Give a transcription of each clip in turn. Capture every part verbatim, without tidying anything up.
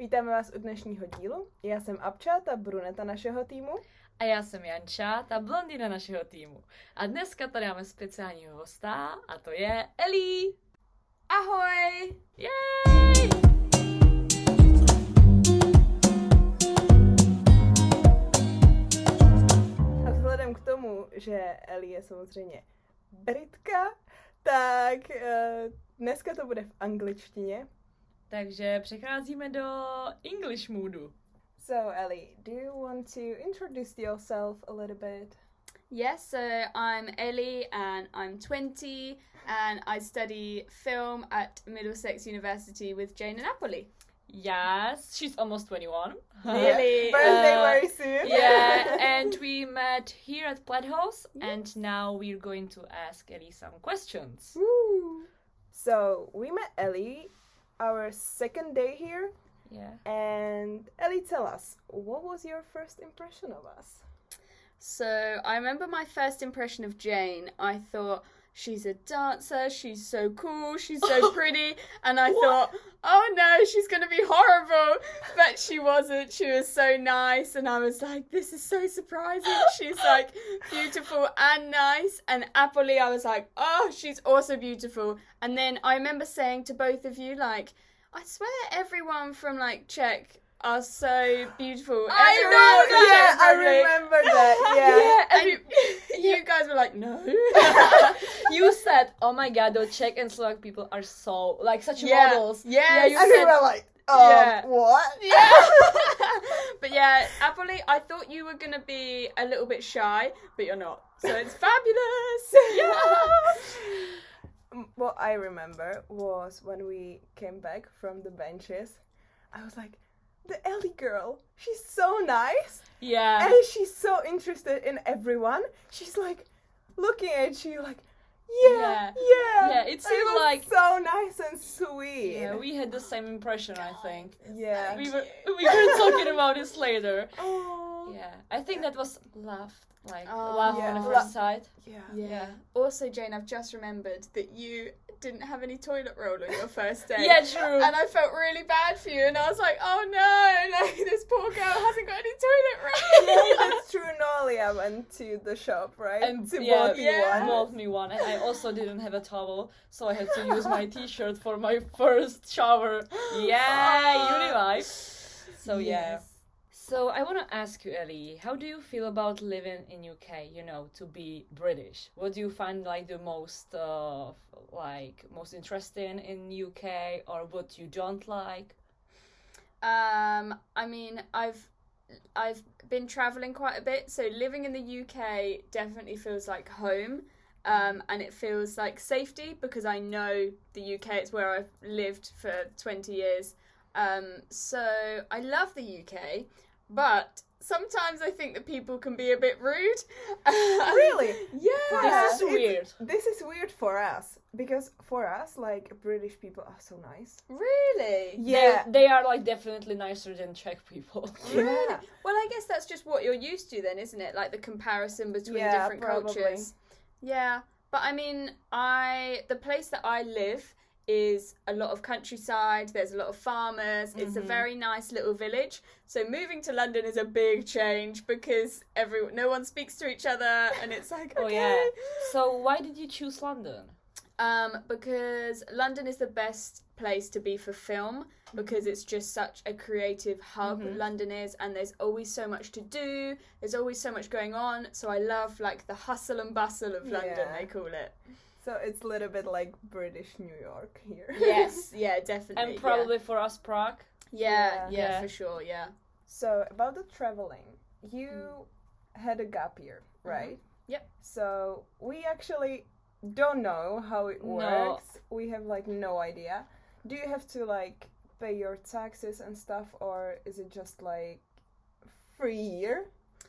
Vítáme vás u dnešního dílu. Já jsem Abča, ta bruneta našeho týmu. A já jsem Janča, ta blondýna našeho týmu. A dneska tady máme speciálního hosta a to je Ellie. Ahoj! Jej! A vzhledem k tomu, že Ellie je samozřejmě Britka, tak uh, dneska to bude v angličtině. Takže přecházíme do English moodu. So Ellie, do you want to introduce yourself a little bit? Yes, so I'm Ellie and I'm twenty and I study film at Middlesex University with Jane and Napoli. Yes, she's almost twenty-one. Really? Birthday Uh, very soon. Yeah, and we met here at Plaid House, and now we're going to ask Ellie some questions. Woo. So we met Ellie our second day here. Yeah. And Ellie, tell us, what was your first impression of us? So I remember my first impression of Jane. I thought, she's a dancer, she's so cool, she's so pretty. And I thought, oh no, she's going to be horrible. But she wasn't. She was so nice. And I was like, this is so surprising. She's like beautiful and nice. And Apolly, I was like, oh, she's also beautiful. And then I remember saying to both of you, like, I swear everyone from like Czech are so beautiful. I Everyone know from Yeah, Czech I Republic. remember that. Yeah. Yeah, And and you, you guys were like, no. you said, "Oh my God, the Czech and Slovak people are so like such Yeah. models." Yes. Yeah, you And we said, were like, um, Yeah. what? Yeah. But yeah, Apolly, I thought you were going to be a little bit shy, but you're not. So it's fabulous. Mm, What I remember was when we came back from the benches, I was like, the Ellie girl, she's so nice. yeah. And she's so interested in everyone. She's like looking at you like, yeah, Yeah. yeah. Yeah, it And seemed was like- so nice and sweet. Yeah, we had the same impression, I think. Yeah. We were we were talking about this later. Oh. Yeah, I think that was love, like Oh. love Yeah. on the Lo- first sight. Yeah. Yeah. Also, Jane, I've just remembered that you didn't have any toilet roll on your first day. Yeah, true. And I felt really bad for you, and I was like, oh no, like this poor girl hasn't got any toilet roll. Yeah, that's true. Nolia went to the shop, right? And to yeah, bought you yeah. one. bought me one, and I also didn't have a towel, so I had to use my T-shirt for my first shower. Yeah, uni life. So yeah. So I want to ask you, Ellie, how do you feel about living in U K? You know, to be British. What do you find like the most, uh, like most interesting in U K, or what you don't like? Um, I mean, I've I've been traveling quite a bit, so living in the U K definitely feels like home, um, and it feels like safety because I know the U K. It's where I've lived for twenty years, um, so I love the U K, but sometimes I think that people can be a bit rude. Really? Yeah. This is it's- weird. This is weird for us because for us, like British people are so nice. Really? Yeah. They, they are like definitely nicer than Czech people. Yeah. Well, I guess that's just what you're used to then, isn't it? Like the comparison between Yeah, different probably. cultures. Yeah. But I mean, I the place that I live is a lot of countryside, there's a lot of farmers, it's a Mhm. very nice little village. So moving to London is a big change because every no one speaks to each other and it's like, okay. Oh yeah. So why did you choose London? Um, because London is the best place to be for film because it's just such a creative hub. Mhm. London is, and there's always so much to do. There's always so much going on. So I love like the hustle and bustle of London. Yeah. They call it. So it's a little bit like British New York here. Yes, yeah, definitely. And probably for us, Prague. yeah, yeah, Yeah. yeah, Yeah. for sure, yeah. So about the traveling, you had a gap year, right? Yep. So we actually don't know how it No. works. We have like no idea. Do you have to like pay your taxes and stuff, or is it just like free year?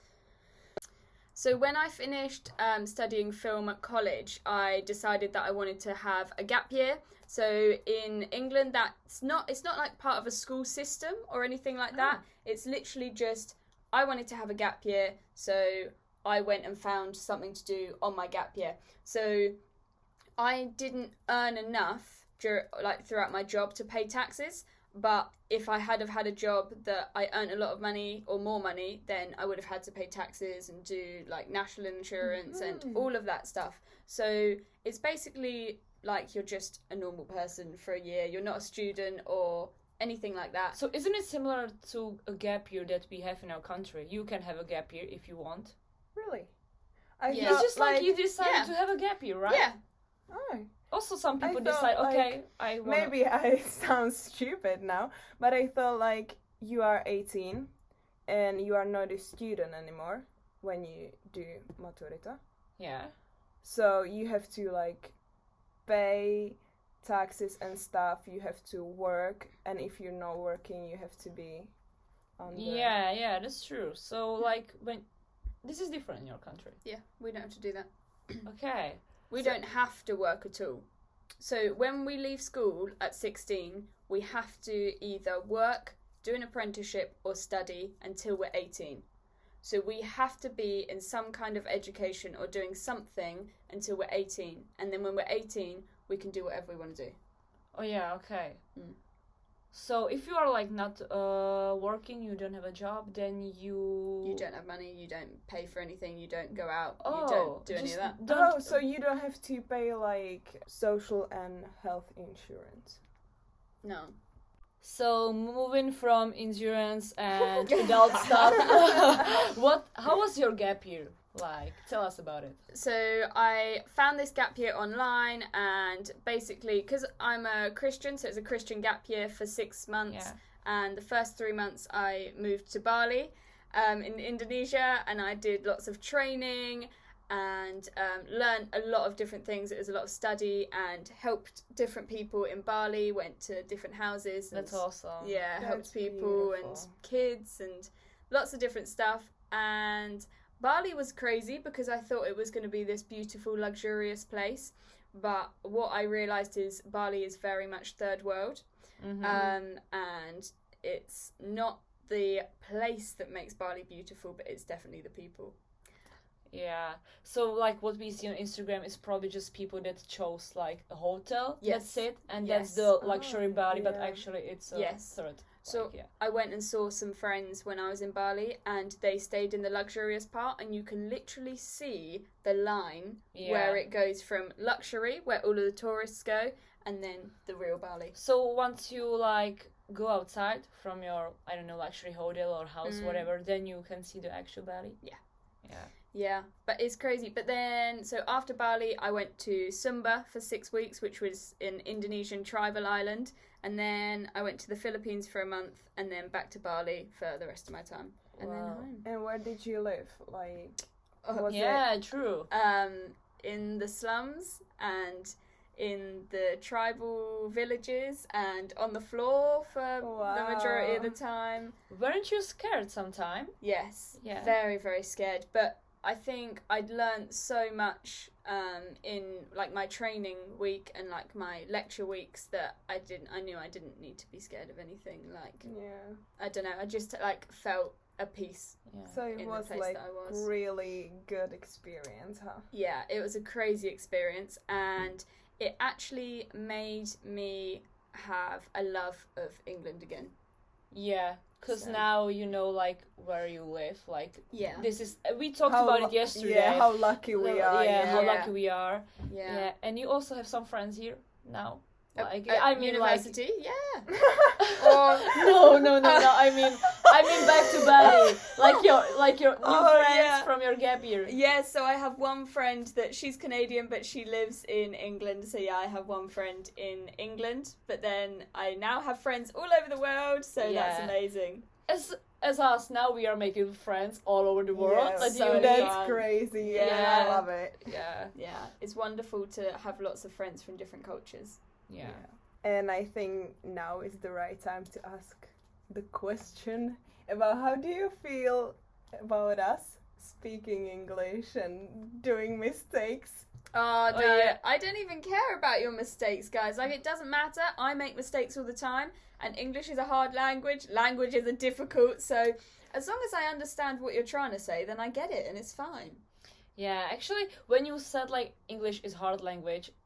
So when I finished um, studying film at college, I decided that I wanted to have a gap year. So in England, that's not it's not like part of a school system or anything like that. It's literally just I wanted to have a gap year, so I went and found something to do on my gap year. So I didn't earn enough dur- like throughout my job to pay taxes. But if I had have had a job that I earned a lot of money or more money, then I would have had to pay taxes and do like national insurance Mhm. and all of that stuff. So it's basically like you're just a normal person for a year. You're not a student or anything like that. So isn't it similar to a gap year that we have in our country? You can have a gap year if you want. Really? I Yeah. It's thought, just like, you decided yeah. to have a gap year, right? Yeah. Oh, Also, some I people thought, decide, like, okay, I want. maybe I sound stupid now, but I thought like you are eighteen and you are not a student anymore when you do maturita. Yeah. So you have to like pay taxes and stuff. You have to work, and if you're not working, you have to be on the... Yeah, yeah, that's true. So, like, when this is different in your country. Yeah, we don't have to do that. Okay. We So- don't have to work at all. So when we leave school at sixteen, we have to either work, do an apprenticeship, or study until we're eighteen. So we have to be in some kind of education or doing something until we're eighteen. And then when we're eighteen, we can do whatever we want to do. Oh yeah, okay. Mm. So if you are like not uh working, you don't have a job, then you You don't have money, you don't pay for anything, you don't go out, oh, you don't do any just of that. Don't, Oh, so you don't have to pay like social and health insurance. No. So moving from insurance and adult stuff, what? How was your gap year like? Tell us about it. So I found this gap year online, and basically, because I'm a Christian, so it's a Christian gap year for six months. Yeah. And the first three months I moved to Bali um, in Indonesia, and I did lots of training and um, learned a lot of different things. It was a lot of study and helped different people in Bali, went to different houses. And That's awesome. yeah, That's helped people and beautiful. kids and lots of different stuff. And Bali was crazy because I thought it was going to be this beautiful, luxurious place. But what I realised is Bali is very much third world. Mhm. Um, and it's not the place that makes Bali beautiful, but it's definitely the people. Yeah. So like what we see on Instagram is probably just people that chose like a hotel. Yes. That's it, and Yes. that's the luxury Oh, Bali. But yeah. actually, it's a Yes. third. So like, yeah. I went and saw some friends when I was in Bali, and they stayed in the luxurious part, and you can literally see the line Yeah. where it goes from luxury, where all of the tourists go, and then the real Bali. So once you like go outside from your I don't know luxury hotel or house Mm. whatever, then you can see the actual Bali. Yeah. Yeah. Yeah, but it's crazy. But then, so after Bali, I went to Sumba for six weeks, which was an Indonesian tribal island. And then I went to the Philippines for a month, and then back to Bali for the rest of my time. And then Wow. home. And where did you live? Like, Oh, was Yeah, true. Um, in the slums and in the tribal villages and on the floor for the majority of the time. Weren't you scared sometime? Yes. Yeah. Very, very scared. But I think I'd learnt so much um, in like my training week and like my lecture weeks that I didn't. I knew I didn't need to be scared of anything. Like it? Yeah. I don't know. I just like felt at peace. Yeah. So it In the was place like that I was. really good experience, huh? Yeah, it was a crazy experience, and it actually made me have a love of England again. Yeah, because So- now you know like where you live. Like Yeah. this is we talked How about lu- it yesterday. Yeah, how lucky we So, are. Yeah, Yeah. how Yeah. lucky we are. Yeah. Yeah, and you also have some friends here now. At- Like at I mean, university, yeah. like Or no, no, no, no. I mean, I mean back to Bali. Like your, like your new Oh, friends yeah. from your gap year. yeah, so I have one friend that she's Canadian, but she lives in England. So yeah, I have one friend in England, but then I now have friends all over the world. So that's Yeah. amazing. As as us now, we are making friends all over the world. Yeah, Like so you, that's fun. crazy. Yeah. Yeah, I love it. yeah, Yeah, it's wonderful to have lots of friends from different cultures. yeah. And I think now is the right time to ask the question about how do you feel about us speaking English and doing mistakes? Oh, no, Oh, yeah. I don't even care about your mistakes, guys. Like, it doesn't matter. I make mistakes all the time, and English is a hard language. Languages are difficult, so as long as I understand what you're trying to say, then I get it, and it's fine. Yeah, actually, when you said like English is hard language,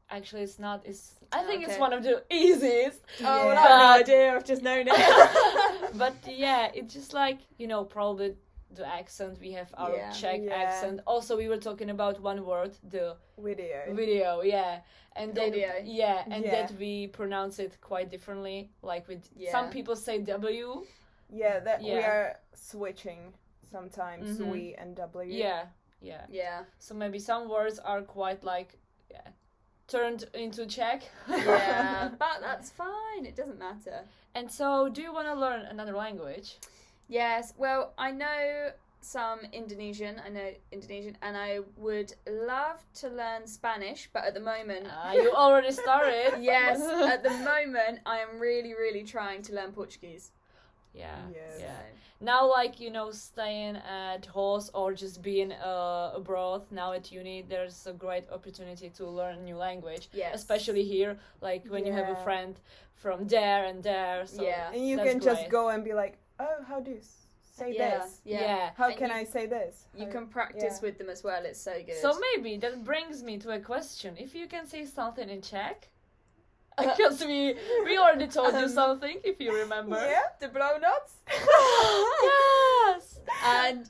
Actually, it's not. It's. I think it's Okay. one of the easiest. Oh, Yeah. well, I have no idea. I've just known it. But yeah, it's just like, you know, probably the accent. We have our Yeah. Czech Yeah. accent. Also, we were talking about one word, the Video. video. Yeah, and then Video. yeah, and Yeah. that we pronounce it quite differently. Like with Yeah. some people say W. Yeah, that we Yeah. are switching sometimes Mhm. we and W. Yeah, yeah. Yeah. So maybe some words are quite like yeah, turned into Czech. Yeah. But that's fine. It doesn't matter. And so, do you want to learn another language? Yes. Well, I know some Indonesian. I know Indonesian, and I would love to learn Spanish, but at the moment. Ah, you already started. Yes, at the moment I am really, really trying to learn Portuguese. Yeah. Yes. Yeah. Now, like, you know, staying at host or just being uh, abroad now at uni, there's a great opportunity to learn a new language. Yes. Especially here, like when you have a Yeah. friend from there and there. So Yeah. And you that's can just great. go and be like, oh, how do you s- say Yeah, this? yeah. Yeah. How And can you- I say this? You How- can practice yeah. with them as well. It's so good. So maybe that brings me to a question. If you can say something in Czech, because we we already told you Um, something, if you remember. Yeah? the blow nuts Yes. and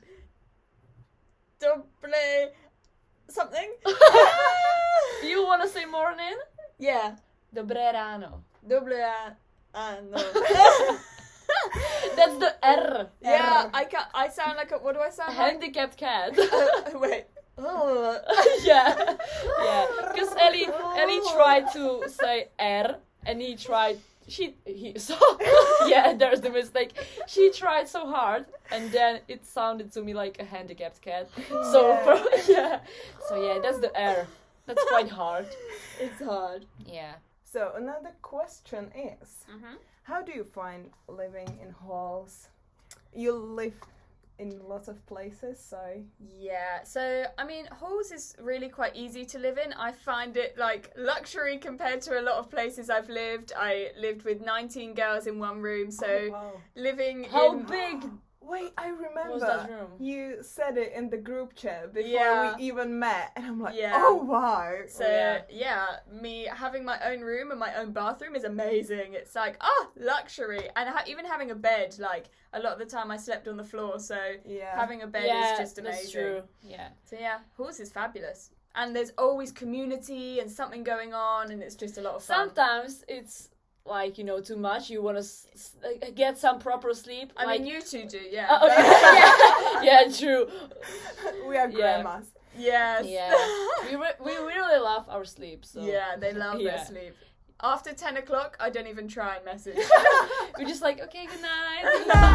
double something. You want to say morning? Yeah, Dobré ráno. double and no. That's the R. Yeah, I can I sound like a. What do I sound like? Handicapped cat. Wait. Oh. yeah, yeah. Because Ellie, Ellie tried to say R, and he tried. She he so yeah. There's the mistake. She tried so hard, and then it sounded to me like a handicapped cat. So Yeah. for, yeah. So yeah, that's the R. That's quite hard. It's hard. Yeah. So another question is, Mm-hmm. how do you find living in halls? You live in lots of places, so Yeah, so I mean, halls is really quite easy to live in. I find it like luxury compared to a lot of places I've lived. I lived with nineteen girls in one room, so Oh, wow. living How in big Wait, I remember. was that room? You said it in the group chat before Yeah. we even met, and I'm like, Yeah. oh wow. So Oh, yeah. yeah. me having my own room and my own bathroom is amazing. It's like ah luxury, and ha- even having a bed. Like a lot of the time I slept on the floor, so Yeah. having a bed yeah, is just amazing. that's true. Yeah. So yeah, halls is fabulous, and there's always community and something going on, and it's just a lot of fun. Sometimes it's like, you know, too much. You want to s- s- uh, get some proper sleep. I like, mean, you two do, yeah. Uh, okay. yeah. yeah, true. we are Yeah. grandmas. Yes. Yeah. We re- we really love our sleep. So Yeah, they love Yeah. their sleep. After ten o'clock, I don't even try and message. we're just like, okay, good night.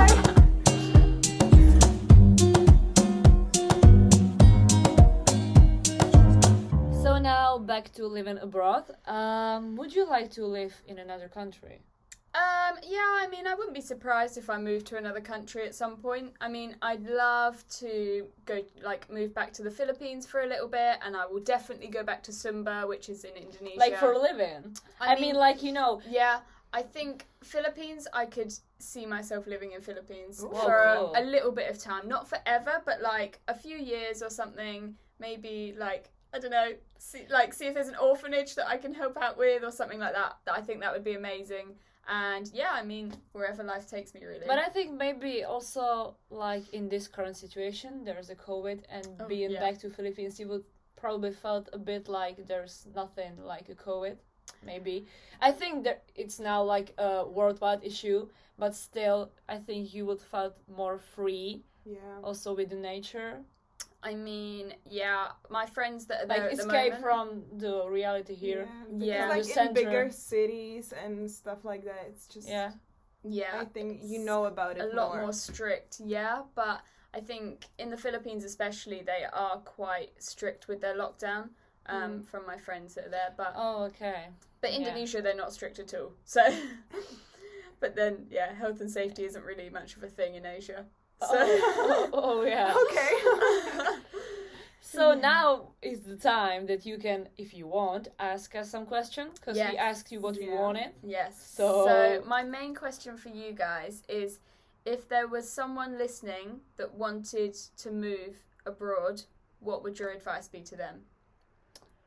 So now back to living abroad. Um, would you like to live in another country? Um, yeah, I mean, I wouldn't be surprised if I moved to another country at some point. I mean, I'd love to go, like, move back to the Philippines for a little bit, and I will definitely go back to Sumba, which is in Indonesia. Like for living? I, mean, like, you know, yeah, I think Philippines, I could see myself living in Philippines Ooh. for a, Cool. a little bit of time. Not forever, but like a few years or something. Maybe like, I don't know, see, like see if there's an orphanage that I can help out with or something like that. I think that would be amazing. And yeah, I mean, wherever life takes me, really. but I think maybe also, like, in this current situation, there's a COVID, and Oh, being yeah. back to Philippines, you would probably felt a bit like there's nothing like a COVID, maybe. I think that it's now like a worldwide issue, but still, I think you would felt more free, Yeah. also with the nature. I mean, yeah, my friends that are Like, there at the escape moment. from the reality here. Yeah, Yeah. because, The like in bigger center. cities and stuff like that, it's just. Yeah. Yeah, I think you it's know about it a lot more. more strict, yeah, but I think in the Philippines especially they are quite strict with their lockdown um, Mm. from my friends that are there, but Oh, okay. but yeah. Indonesia they're not strict at all, so but then yeah, health and safety isn't really much of a thing in Asia, so Oh, oh, yeah. Okay. So now is the time that you can, if you want, ask us some questions, because Yes. we asked you what we Yeah. wanted. yes, So- so my main question for you guys is if there was someone listening that wanted to move abroad, what would your advice be to them?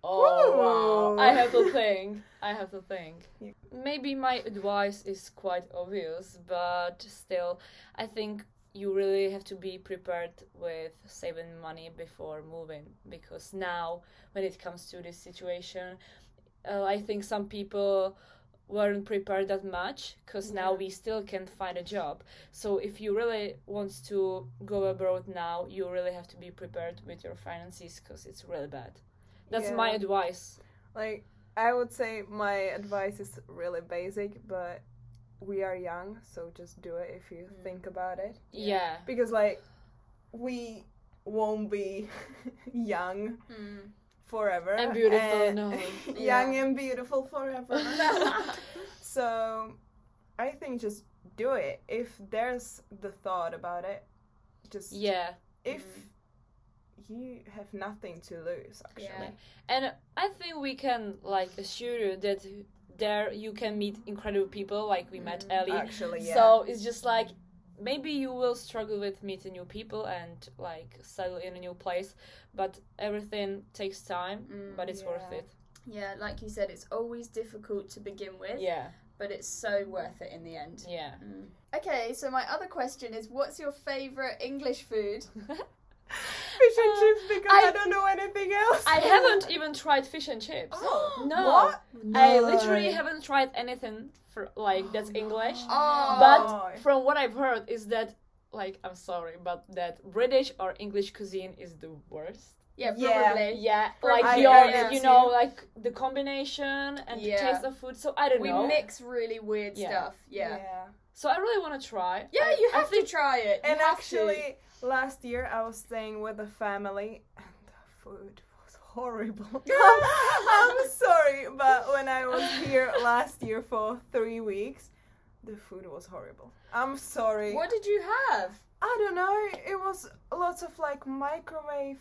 Oh wow! Ooh. I have to think. I have to think. Yeah. Maybe my advice is quite obvious, but still, I think you really have to be prepared with saving money before moving, because now, when it comes to this situation, uh, I think some people weren't prepared that much, because now Yeah. we still can't find a job. So if you really want to go abroad now, you really have to be prepared with your finances, because it's really bad. That's Yeah. my advice. Like, I would say my advice is really basic, but we are young, so just do it if you Mm. think about it. Yeah. Because, like, we won't be young Mm. forever. And beautiful, and- no. young Yeah. and beautiful forever. So, I think just do it. If there's the thought about it, just Yeah. if Mm. you have nothing to lose, actually. Yeah. And I think we can like assure you that there you can meet incredible people, like we met Mm, Ellie. Actually, yeah. So it's just like maybe you will struggle with meeting new people and like settle in a new place, but everything takes time, Mm, but it's worth yeah. it. Yeah, like you said, it's always difficult to begin with, Yeah. but it's so worth it in the end. Yeah. Mm. Okay, so my other question is, what's your favourite English food? Fish and Uh, chips, because I- I, don't know anything else. I haven't even tried fish and chips. Oh, No. What? I No. literally haven't tried anything for like that's English. Oh. But from what I've heard is that like I'm sorry, but that British or English cuisine is the worst. Yeah, Yeah. probably. Yeah, Probably. like I your, heard it you too. know, like the combination and Yeah. the taste of food. So I don't We know. mix really weird Yeah. stuff. Yeah. Yeah. So I really want to try. Yeah, I- you I have think- to try it. You And have actually, last year I was staying with a family, and the food was horrible. I'm sorry, but when I was here last year for three weeks, the food was horrible. I'm sorry. to. What did you have? I don't know. It was lots of like microwave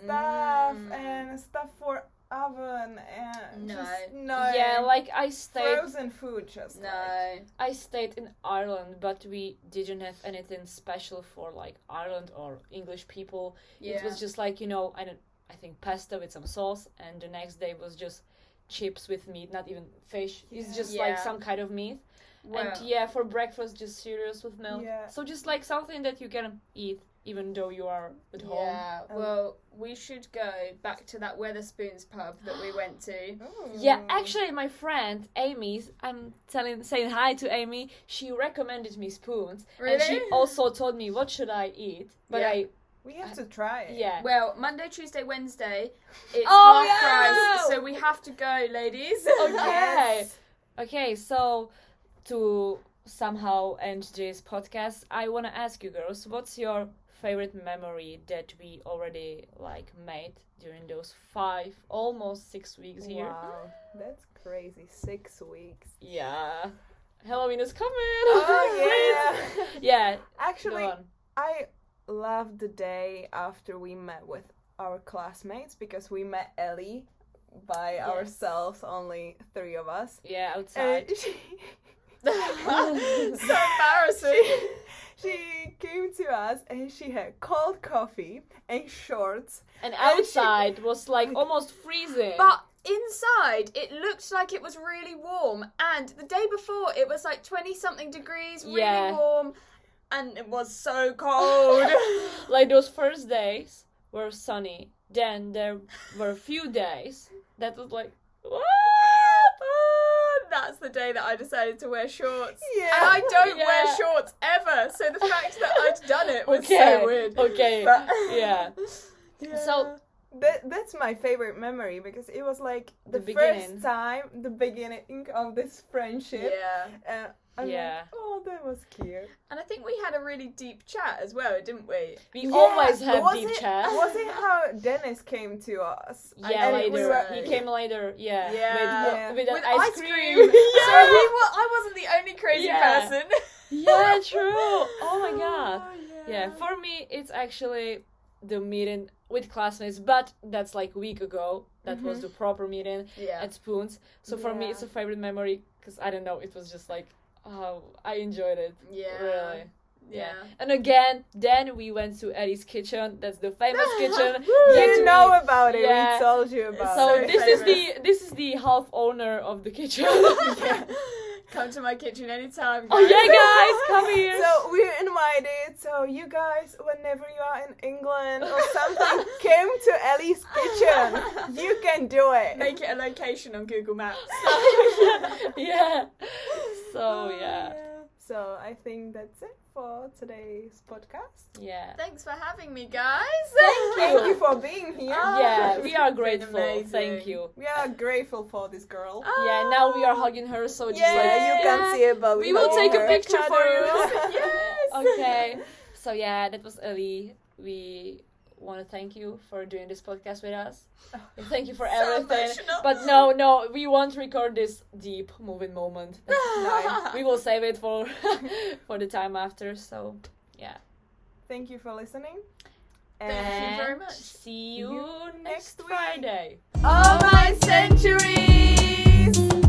stuff Mm. and stuff for oven and No. just no. Yeah, like I stayed frozen food just No. like. I stayed in Ireland, but we didn't have anything special for like Ireland or English people. Yeah. It was just like, you know, I don't I think pasta with some sauce, and the next day was just chips with meat, not even fish. It's Yeah. just Yeah. like some kind of meat. Well, And yeah, for breakfast just cereals with milk. Yeah. So just like something that you can eat even though you are at home. yeah. Um, Well, we should go back to that Weatherspoons pub that we went to. Ooh. Yeah, actually my friend Amy, I'm telling saying hi to Amy, she recommended me spoons. And she Really? also told me what should I eat. But Yeah. I We have to try it. yeah. Well, Monday, Tuesday, Wednesday, it's Oh, half yeah! price, so we have to go, ladies. Okay. Yes. Okay, so to somehow end this podcast, I want to ask you girls, what's your favorite memory that we already like made during those five, almost six weeks here? Wow, that's crazy. Six weeks. Yeah. Halloween is coming. Oh yeah. Yeah. Actually, Go on. I loved the day after we met with our classmates, because we met Ellie by Yes. ourselves, only three of us. Yeah, And outside. she, So embarrassing. she came to us and she had cold coffee and shorts. And and she- outside was like almost freezing. But inside, it looked like it was really warm, and the day before, it was like twenty something degrees, really Yeah. warm, and it was so cold. Like those first days were sunny. Then there were a few days that was like, what? Oh, that's the day that I decided to wear shorts. Yeah. And I don't Yeah. wear shorts ever, so the fact that I'd done it was Okay, so weird. okay, But- yeah. Yeah. So- That, that's my favorite memory, because it was like the, The first beginning. time, the beginning of this friendship. yeah. And I'm Yeah. like, oh, that was cute. And I think we had a really deep chat as well, didn't we? We Yeah, always have was deep it, chat. Was it how Dennis came to us? Yeah, And later. we were- He came later, yeah. Yeah. With, with, With that ice, ice cream. cream. So he wa- I wasn't the only crazy Yeah. person. Yeah, true. Oh my god. Oh, Yeah, for me, it's actually the meeting with classmates, but that's like a week ago. That was Mhm. the proper meeting Yeah. at Spoons. So for me, Yeah. it's a favorite memory because I don't know, it was just like, oh, I enjoyed it. Yeah. Really. Yeah. And again, then we went to Ellie's kitchen. That's the famous kitchen. You Get know me- about it. yeah. We told you about So it. this is famous. the this is the half owner of the kitchen. Yeah. Come to my kitchen anytime. Oh guys. yeah, guys, come here. So we're invited. So you guys, whenever you are in England or something, came to Ellie's kitchen. You can do it. Make it a location on Google Maps. Yeah. So yeah, So I think that's it for today's podcast. yeah. Thanks for having me, guys. Thank you for being here. Oh, Yeah, we are it's been grateful. amazing. Thank you. We are grateful for this girl. Yeah, now we are hugging her, so just Yeah, like you can see it, but we will hug take a her. picture for you. Yes. Okay. So yeah, that was Ellie. We want to thank you for doing this podcast with us. And thank you for So everything. emotional. But no, no, we won't record this deep moving moment. No, we will save it for for the time after. So yeah. Thank you for listening. Thank you very And much. See you, You next next week. Friday. All my centuries!